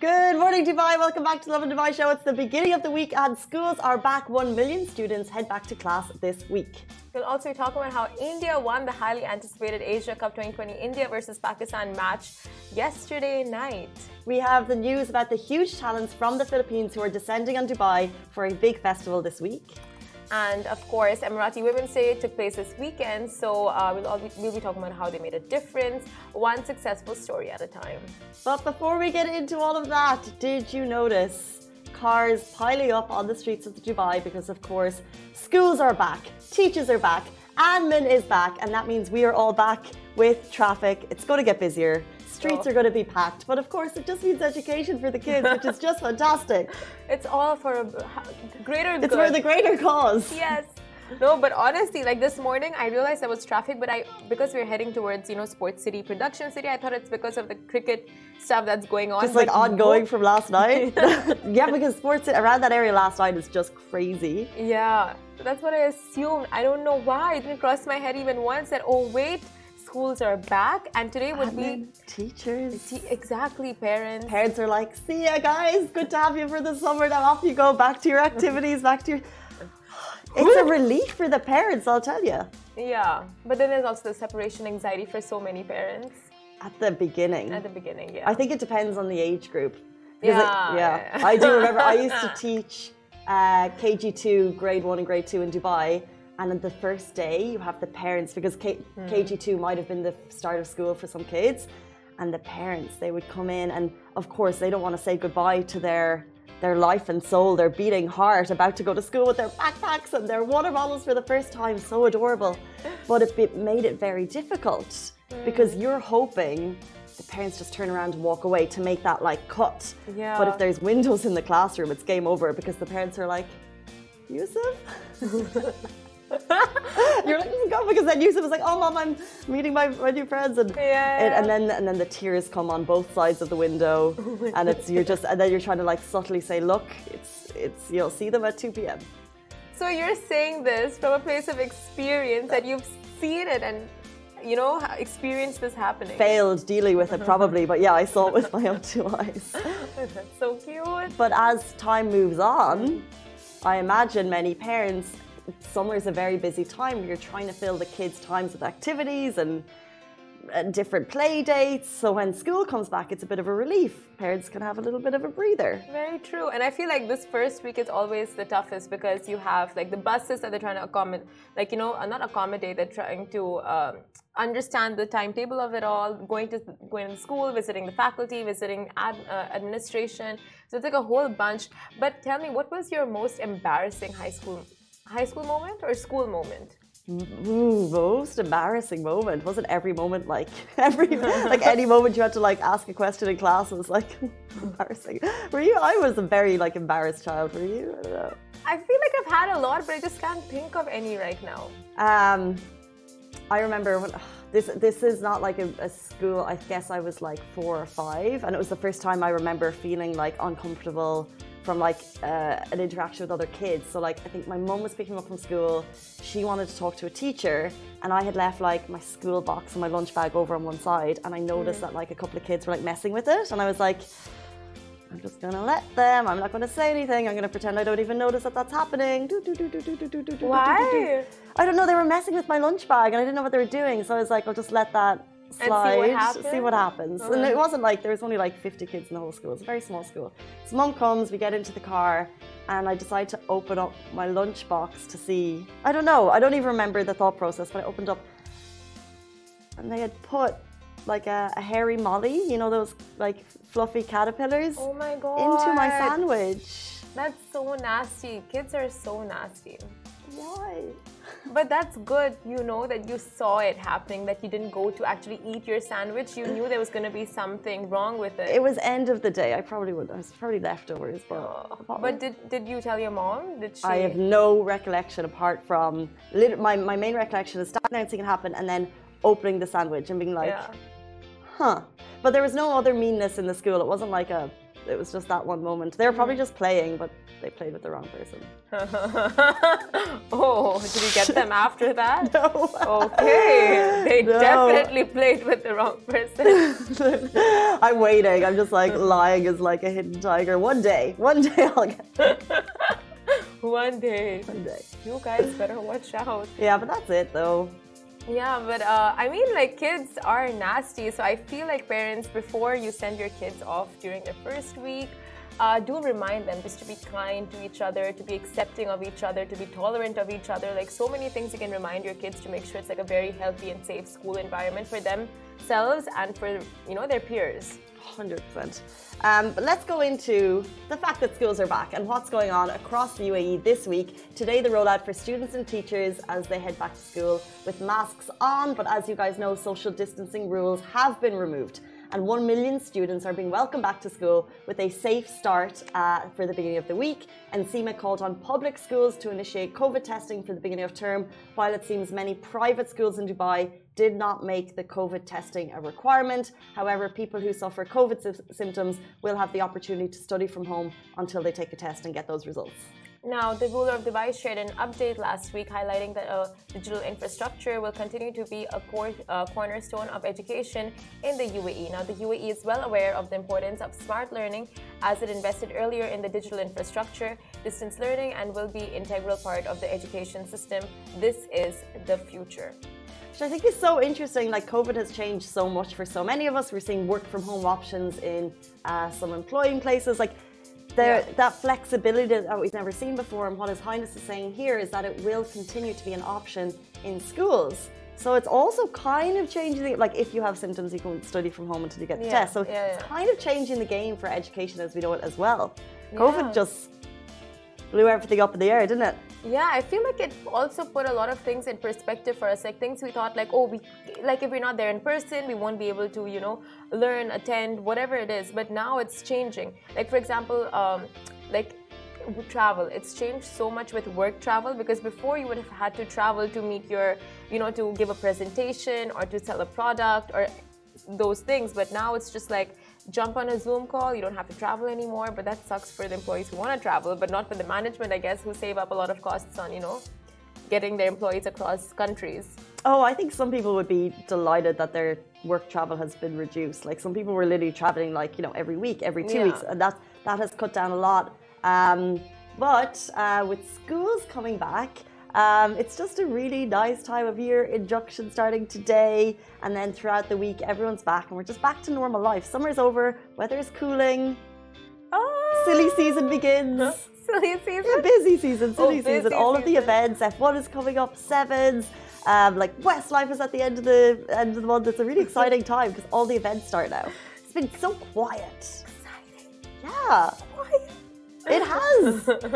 Good morning, Dubai. Welcome back to Lovin Dubai Show. It's the beginning of the week and schools are back. 1 million students head back to class this week. We'll also be talking about how India won the highly anticipated Asia Cup 2020 India versus Pakistan match yesterday night. We have the news about the huge talents from the Philippines who are descending on Dubai for a big festival this week. And of course, Emirati Women's Day took place this weekend, so we'll be talking about how they made a difference, one successful story at a time. But before we get into all of that, did you notice cars piling up on the streets of Dubai? Because of course, schools are back, teachers are back, admin is back, and that means we are all back with traffic. It's going to get busier. Streets are going to be packed, but of course it just means education for the kids, which is just fantastic. It's all for a greater good. It's for the greater cause. Yes. No, but honestly, like this morning, I realized there was traffic, but because we're heading towards, Sports City, Production City, I thought it's because of the cricket stuff that's going on. Just like ongoing from last night. Yeah, because sports around that area last night is just crazy. Yeah, that's what I assumed. I don't know why. It didn't cross my head even once that, oh, wait, schools are back, and today would be teachers. Exactly, parents. Parents are like, see ya, guys. Good to have you for the summer. Now off you go, back to your activities, back to your... It's a relief for the parents, I'll tell you. Yeah, but then there's also the separation anxiety for so many parents. At the beginning. At the beginning, yeah. I think it depends on the age group. Yeah. I do remember I used to teach KG2, grade 1 and grade 2 in Dubai. And on the first day, you have the parents, because KG2 might have been the start of school for some kids. And the parents, they would come in and, of course, they don't want to say goodbye to their life and soul, their beating heart, about to go to school with their backpacks and their water bottles for the first time. So adorable. But it made it very difficult because you're hoping the parents just turn around and walk away to make that cut. Yeah. But if there's windows in the classroom, it's game over because the parents are like, Yusuf? You're like, oh God, because then Yusuf is like, oh Mom, I'm meeting my new friends, and then the tears come on both sides of the window, and then you're trying to subtly say, look, it's you'll see them at 2 p.m. So you're saying this from a place of experience that you've seen it and experienced this happening. Failed dealing with it probably, but yeah, I saw it with my own 2 eyes. That's so cute. But as time moves on, I imagine many parents, summer's a very busy time. You're trying to fill the kids' times with activities and different play dates. So when school comes back, it's a bit of a relief. Parents can have a little bit of a breather. Very true. And I feel like this first week is always the toughest because you have the buses that they're trying to accommodate, not accommodate, they're trying to understand the timetable of it all, going to school, visiting the faculty, visiting administration. So it's like a whole bunch. But tell me, what was your most embarrassing high school moment or school moment? Most embarrassing moment. Wasn't every moment any moment you had to ask a question in class was embarrassing. Were you? I was a very embarrassed child. Were you? I don't know. I feel like I've had a lot, but I just can't think of any right now. I remember when this is not a school. I guess I was 4 or 5, and it was the first time I remember feeling uncomfortable from an interaction with other kids. So I think my mum was picking me up from school. She wanted to talk to a teacher, and I had left my school box and my lunch bag over on one side, and I noticed that a couple of kids were messing with it, and I was like, I'm just gonna let them. I'm not gonna say anything. I'm gonna pretend I don't even notice that that's happening. Why? I don't know. They were messing with my lunch bag, and I didn't know what they were doing. So I was like, I'll just let that slide, see what happens. And it wasn't there was only 50 kids in the whole school. It's a very small school. So Mum comes, we get into the car, and I decide to open up my lunch box to see. I don't know. I don't even remember the thought process, but I opened up, and they had put a hairy molly, those fluffy caterpillars. Oh my God. Into my sandwich. That's so nasty. Kids are so nasty. Why? But that's good, that you saw it happening, that you didn't go to actually eat your sandwich. You knew there was going to be something wrong with it. It was end of the day. I was probably leftovers. But did you tell your mom? Did she? I have no recollection apart from my main recollection is announcing it happened and then opening the sandwich and being huh. But there was no other meanness in the school. It wasn't it was just that one moment. They were probably just playing, but they played with the wrong person. Oh, did you get them after that? No. Okay. They definitely played with the wrong person. I'm waiting. I'm just like lying is like a hidden tiger. One day I'll get it. One day. You guys better watch out. Yeah, but that's it though. Yeah, but I mean, like, kids are nasty. So I feel like parents, before you send your kids off during their first week, do remind them just to be kind to each other, to be accepting of each other, to be tolerant of each other. Like, so many things you can remind your kids to make sure it's like a very healthy and safe school environment for themselves and for, you know, their peers. 100%. But let's go into the fact that schools are back and what's going on across the UAE this week. Today, the rollout for students and teachers as they head back to school with masks on. But as you guys know, social distancing rules have been removed. And 1 million students are being welcomed back to school with a safe start for the beginning of the week. And SEMA called on public schools to initiate COVID testing for the beginning of term, while it seems many private schools in Dubai did not make the COVID testing a requirement. However, people who suffer COVID symptoms will have the opportunity to study from home until they take a test and get those results. Now, the ruler of Dubai shared an update last week highlighting that digital infrastructure will continue to be a cornerstone of education in the UAE. Now, the UAE is well aware of the importance of smart learning as it invested earlier in the digital infrastructure, distance learning, and will be an integral part of the education system. This is the future. Which I think is so interesting. Like, COVID has changed so much for so many of us. We're seeing work from home options in some employing places. Like, that flexibility that we've never seen before, and what His Highness is saying here is that it will continue to be an option in schools. So it's also kind of changing, like, if you have symptoms, you can study from home until you get the test. So it's kind of changing the game for education as we know it as well. COVID just blew everything up in the air, didn't it? Yeah, I feel like it also put a lot of things in perspective for us. Like, things we thought, like, oh, if we're not there in person, we won't be able to, you know, learn, attend, whatever it is. But now it's changing. Like, for example, travel. It's changed so much with work travel, because before you would have had to travel to meet your, you know, to give a presentation or to sell a product or those things. But now it's just like, jump on a Zoom call, you don't have to travel anymore. But that sucks for the employees who want to travel, but not for the management, I guess, who save up a lot of costs on, you know, getting their employees across countries. Oh, I think some people would be delighted that their work travel has been reduced. Like, some people were literally traveling, like, you know, every week, every 2 weeks, and that has cut down a lot. But with schools coming back, it's just a really nice time of year. Induction starting today, and then throughout the week, everyone's back, and we're just back to normal life. Summer's over, weather is cooling. Silly season begins. Silly season? Yeah, busy season, silly season. All of the events. F1 is coming up, Sevens. Like, Westlife is at the end of the month. It's a really exciting time because all the events start now. It's been so quiet. Exciting. Yeah. Quiet. It has.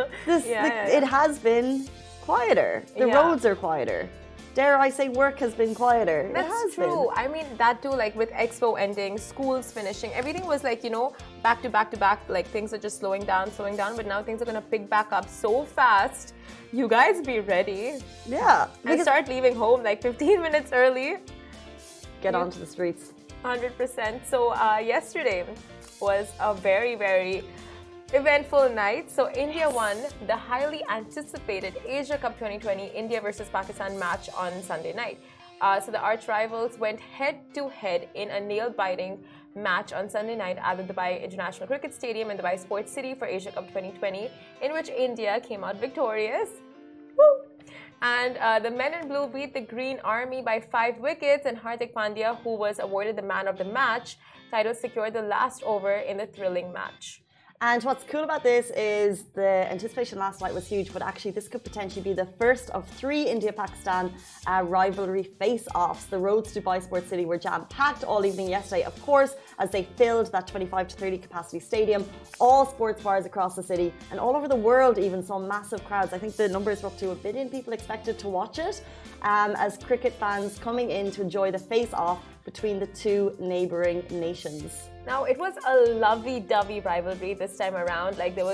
It has been quieter. The roads are quieter. Dare I say, work has been quieter. That's true. I mean, that too, like with Expo ending, schools finishing, everything was like, you know, back to back to back. Like, things are just slowing down. But now things are going to pick back up so fast. You guys be ready. Yeah. And start leaving home like 15 minutes early. Get onto the streets. 100%. So yesterday was a very, very eventful night. So India won the highly anticipated Asia Cup 2020 India versus Pakistan match on Sunday night. So the arch rivals went head-to-head in a nail-biting match on Sunday night at the Dubai International Cricket Stadium in Dubai Sports City for Asia Cup 2020, in which India came out victorious. Woo! And the men in blue beat the Green Army by 5 wickets, and Hardik Pandya, who was awarded the man of the match title, secured the last over in the thrilling match. And what's cool about this is the anticipation last night was huge, but actually this could potentially be the first of 3 India-Pakistan rivalry face-offs. The roads to Dubai Sports City were jam-packed all evening yesterday, of course, as they filled that 25 to 30 capacity stadium. All sports bars across the city and all over the world even saw massive crowds. I think the numbers were up to 1 billion people expected to watch it, as cricket fans coming in to enjoy the face-off between the 2 neighbouring nations. Now, it was a lovey-dovey rivalry this time around. Like, there was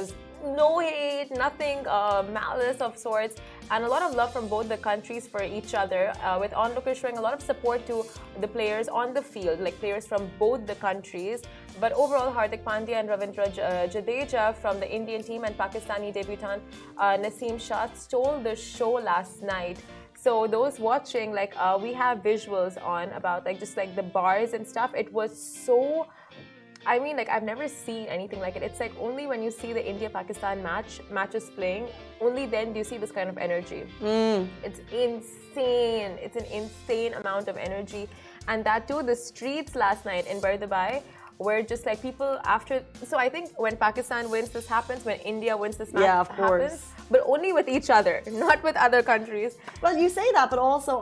no hate, nothing malice of sorts, and a lot of love from both the countries for each other, with onlookers showing a lot of support to the players on the field, like players from both the countries. But overall, Hardik Pandya and Ravindra Jadeja from the Indian team and Pakistani debutant Naseem Shah stole the show last night. So those watching, like we have visuals on about like just like the bars and stuff. It was so, I mean, like I've never seen anything like it. It's like only when you see the India-Pakistan matches playing, only then do you see this kind of energy. It's insane. It's an insane amount of energy. And that too, the streets last night in Bardabai were just like people after. So I think when Pakistan wins, this happens. When India wins, this match happens. But only with each other, not with other countries. Well, you say that, but also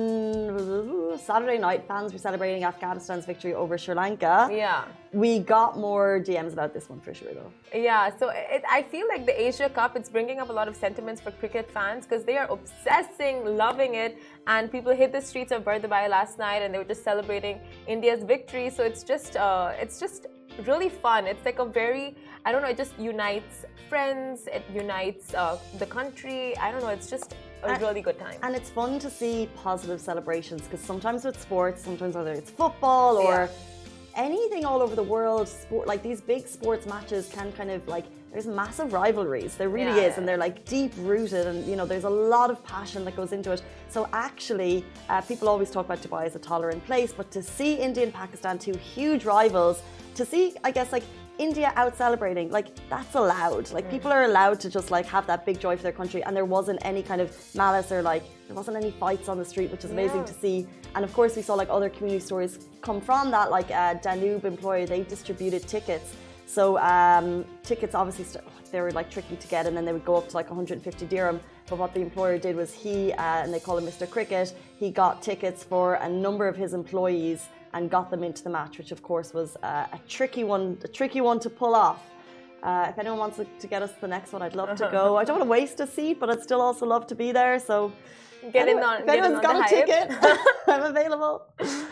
on Saturday night, fans were celebrating Afghanistan's victory over Sri Lanka. Yeah. We got more DMs about this one for sure, though. Yeah, so I feel like the Asia Cup, it's bringing up a lot of sentiments for cricket fans because they are obsessing, loving it. And people hit the streets of Bardabai last night and they were just celebrating India's victory. So it's just really fun. It's like a very, I don't know, it just unites friends, it unites the country. I don't know, it's just a really good time. And it's fun to see positive celebrations because sometimes with sports, sometimes whether it's football or anything all over the world, sport, like these big sports matches can kind of like, there's massive rivalries. There really is. And they're like deep rooted and, you know, there's a lot of passion that goes into it. So actually, people always talk about Dubai as a tolerant place, but to see India and Pakistan, two huge rivals, to see, I guess, like India out celebrating, like that's allowed. Like people are allowed to just like have that big joy for their country, and there wasn't any kind of malice or like there wasn't any fights on the street, which is amazing to see. And of course we saw like other community stories come from that, like Danube employer, they distributed tickets. So tickets obviously they were like tricky to get, and then they would go up to like 150 dirham. But what the employer did was he, and they call him Mr. Cricket, he got tickets for a number of his employees and got them into the match, which of course was a tricky one to pull off. If anyone wants to get us to the next one, I'd love to go. I don't want to waste a seat, but I'd still also love to be there. So if anyone's got a ticket, I'm available.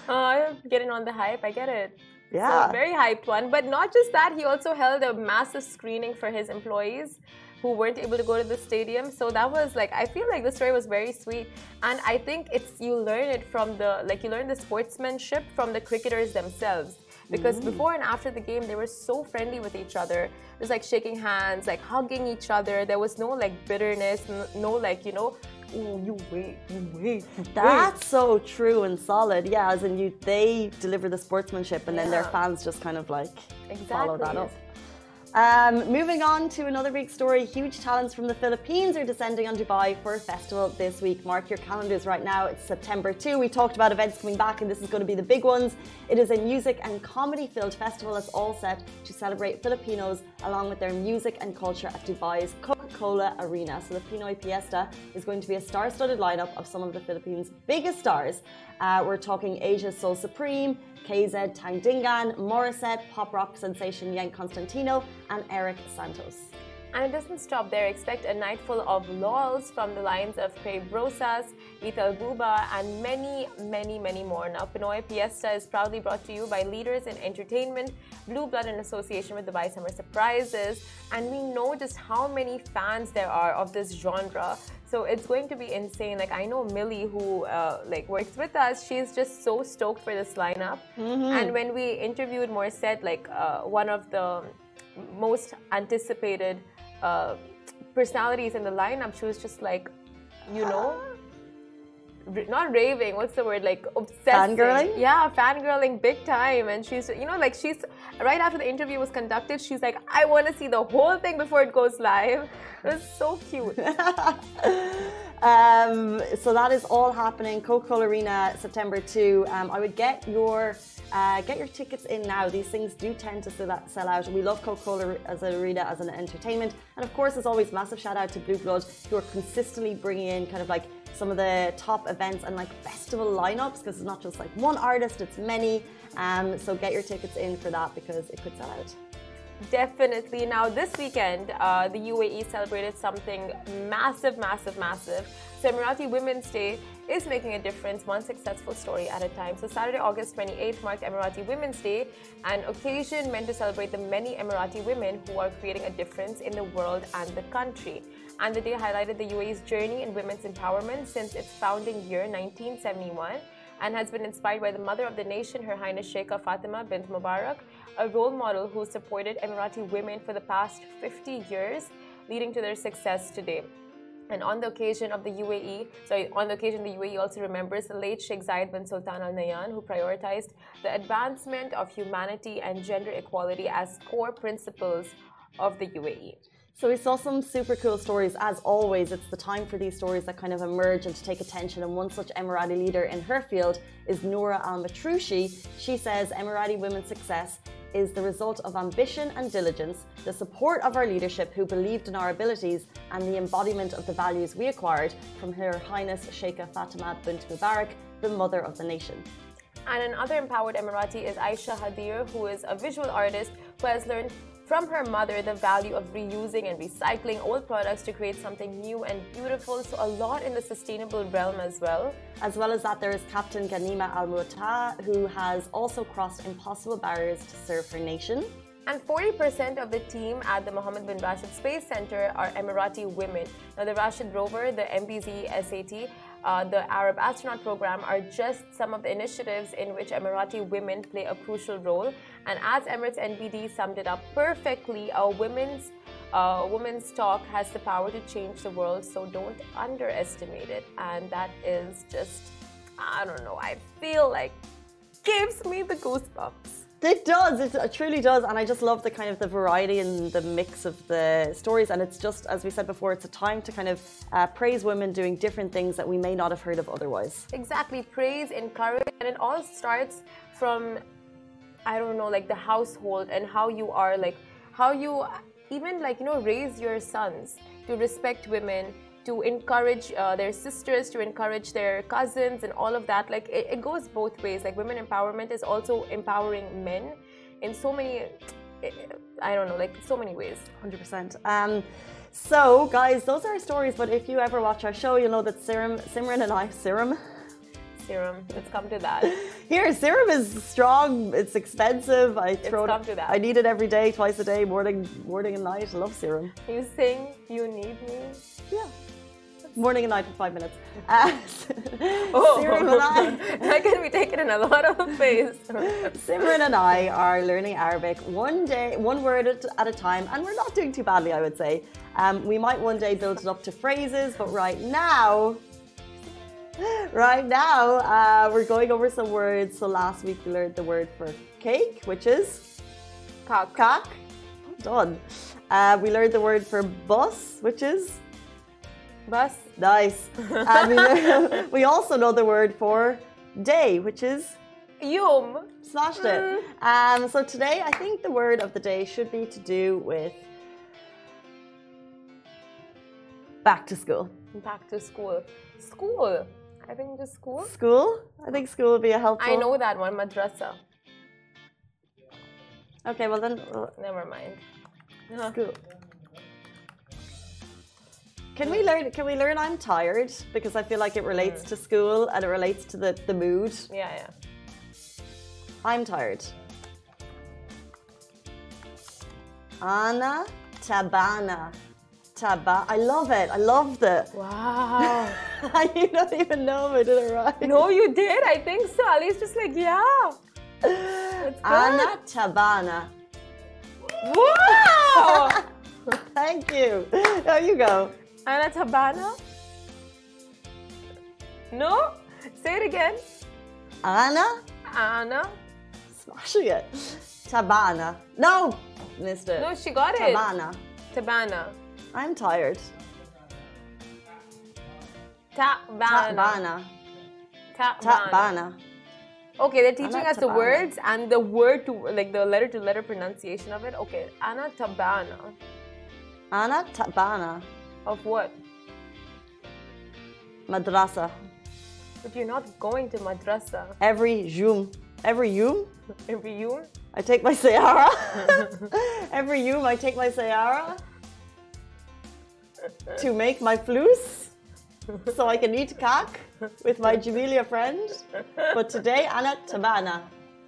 Get in on the hype, I get it. Yeah. So very hyped one. But not just that, he also held a massive screening for his employees who weren't able to go to the stadium. So that was like, I feel like the story was very sweet. And I think you learn it from you learn the sportsmanship from the cricketers themselves. Because before and after the game, they were so friendly with each other. It was like shaking hands, like hugging each other. There was no like bitterness, no like, you know, oh, you wait. That's so true and solid. Yeah, as in they deliver the sportsmanship and then their fans just kind of like follow that up. Moving on to another big story, huge talents from the Philippines are descending on Dubai for a festival this week. Mark your calendars right now, it's September 2. We talked about events coming back and this is going to be the big ones. It is a music and comedy-filled festival that's all set to celebrate Filipinos along with their music and culture at Dubai's Coca-Cola Arena. So the Pinoy Fiesta is going to be a star-studded lineup of some of the Philippines' biggest stars. We're talking Asia's Soul Supreme, KZ Tangdingan, Morissette, pop rock sensation Yang Constantino, and Eric Santos. And it doesn't stop there. Expect a night full of lols from the lines of Pei Brosas, Ital Buba, and many more. Now, Pinoy Fiesta is proudly brought to you by leaders in entertainment, Blue Blood in association with Dubai Summer Surprises. And we know just how many fans there are of this genre. So it's going to be insane. Like I know Millie, who works with us, she's just so stoked for this lineup. And when we interviewed Morissette, one of the most anticipated personalities in the lineup, she was just like, you know, not raving, what's the word, like obsessing. Fangirling? Yeah, fangirling big time. And she's, you know, like she's, right after the interview was conducted, she's like, I want to see the whole thing before it goes live. It was so cute. So that is all happening, Coca-Cola Arena, September 2. I would get your tickets in now. These things do tend to sell out. We love Coca-Cola as an arena, as an entertainment. And of course, as always, massive shout out to Blue Blood, who are consistently bringing in kind of like some of the top events and like festival lineups, because it's not just like one artist, it's many. So get your tickets in for that because it could sell out. Definitely. Now, this weekend, the UAE celebrated something massive, massive, massive. So, Emirati Women's Day is making a difference, one successful story at a time. So, Saturday, August 28th marked Emirati Women's Day, an occasion meant to celebrate the many Emirati women who are creating a difference in the world and the country. And the day highlighted the UAE's journey in women's empowerment since its founding year, 1971, and has been inspired by the mother of the nation, Her Highness Sheikha Fatima bint Mubarak, a role model who supported Emirati women for the past 50 years, leading to their success today. And on the occasion of the UAE also remembers the late Sheikh Zayed bin Sultan Al Nahyan, who prioritized the advancement of humanity and gender equality as core principles of the UAE. So we saw some super cool stories. As always, it's the time for these stories that kind of emerge and to take attention. And one such Emirati leader in her field is Noura Al Matroushi. She says Emirati women's success is the result of ambition and diligence, the support of our leadership who believed in our abilities, and the embodiment of the values we acquired from Her Highness Sheikha Fatima bint Mubarak, the mother of the nation. And another empowered Emirati is Aisha Hadir, who is a visual artist who has learned from her mother the value of reusing and recycling old products to create something new and beautiful. So a lot in the sustainable realm as well. As well as that, there is Captain Ghanima Al Mu'ta, who has also crossed impossible barriers to serve her nation. And 40% of the team at the Mohammed bin Rashid Space Center are Emirati women. Now, the Rashid rover, the MBZ SAT, the Arab astronaut program are just some of the initiatives in which Emirati women play a crucial role. And as Emirates NBD summed it up perfectly, a women's talk has the power to change the world, so don't underestimate it. And that is just, I don't know, I feel like gives me the goosebumps. It does, it truly does, and I just love the kind of the variety and the mix of the stories, and it's just, as we said before, it's a time to kind of praise women doing different things that we may not have heard of otherwise. Exactly, praise, encourage, and it all starts from, I don't know, like the household and how you are, like how you even like, you know, raise your sons to respect women, to encourage their sisters, to encourage their cousins and all of that. Like it goes both ways. Like women empowerment is also empowering men in so many, I don't know, like so many ways. 100%. So guys, those are our stories, but if you ever watch our show, you'll know that Simran and I, Serum, let's come to that. Here, serum is strong, it's expensive. I need it every day, twice a day, morning and night. I love serum. You sing, you need me. Yeah. Morning and night for 5 minutes. Serum and I. That can be taken in a lot of ways. Simran and I are learning Arabic one word at a time, and we're not doing too badly, I would say. We might one day build it up to phrases, but right now, we're going over some words. So last week we learned the word for cake, which is kak. Done. We learned the word for bus, which is bus. Nice. And we also know the word for day, which is yom. Smashed it. So today I think the word of the day should be to do with back to school. Back to school. School. I think just school. School? I think school would be a helpful. I know that one, madrasa. Okay, well then. Never mind. School. Can we learn I'm tired? Because I feel like it relates to school and it relates to the mood. Yeah. I'm tired. Ana tabana. I love it. I love the. Wow. You don't even know if I did it right. No, you did. I think so. Ali's just like, yeah. Ana tabana. Wow. Thank you. There you go. Ana tabana. No. Say it again. Ana. Smashing it. Tabana. No, missed it. No, she got it. Tabana. I'm tired. Tabana. Okay, they're teaching us the words and the word to, like the letter to letter pronunciation of it. Okay, Ana tabana. Ana tabana. Of what? Madrasa. But you're not going to madrasa. Every yum. Every yum? I take my Sayara. Every Yom I take my Sayara to make my flus so I can eat kak with my Jamelia friend. But today, Ana tabana.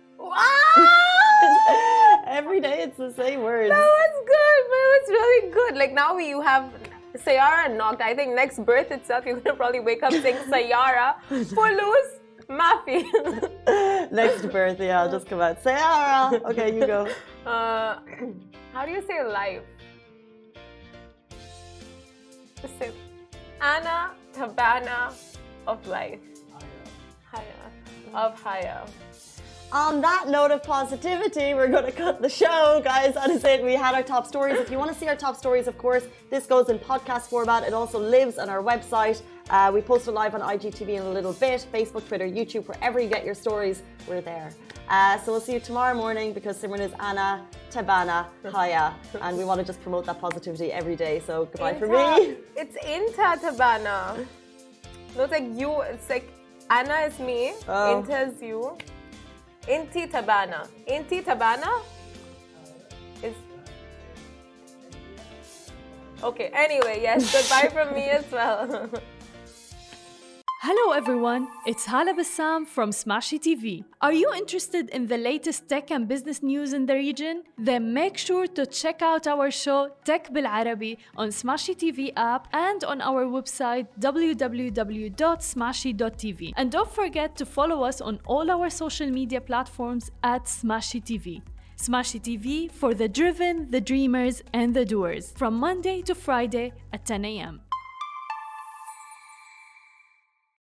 Every day it's the same words. That was good, but it was really good. Like now you have Sayara knocked. I think next birth itself, you're gonna probably wake up saying Sayara, Fulus, Mafi. Next birth, yeah, I'll just come out. Sayara. Okay, you go. How do you say life? Just say Ana Tabana of life. Haya. Of Haya. On that note of positivity, we're going to cut the show, guys. That is it. We had our top stories. If you want to see our top stories, of course, this goes in podcast format. It also lives on our website. We post it live on IGTV in a little bit. Facebook, Twitter, YouTube, wherever you get your stories, we're there. So we'll see you tomorrow morning because Simran is Ana Tabana Haya. And we want to just promote that positivity every day. So goodbye for me. It's Inta Tabana. No, it's like you. It's like Ana is me. Oh. Inta is you. Inti Tabana. Inti Tabana is... Okay, anyway, yes, goodbye from me as well. Hello everyone, it's Hala Bassam from Smashy TV. Are you interested in the latest tech and business news in the region? Then make sure to check out our show Tech Bil Arabi on Smashy TV app and on our website www.smashy.tv. And don't forget to follow us on all our social media platforms at Smashy TV. Smashy TV for the driven, the dreamers and the doers from Monday to Friday at 10 a.m.